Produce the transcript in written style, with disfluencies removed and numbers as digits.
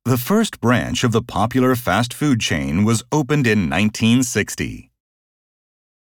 The first branch of the popular fast food chain was opened in 1960.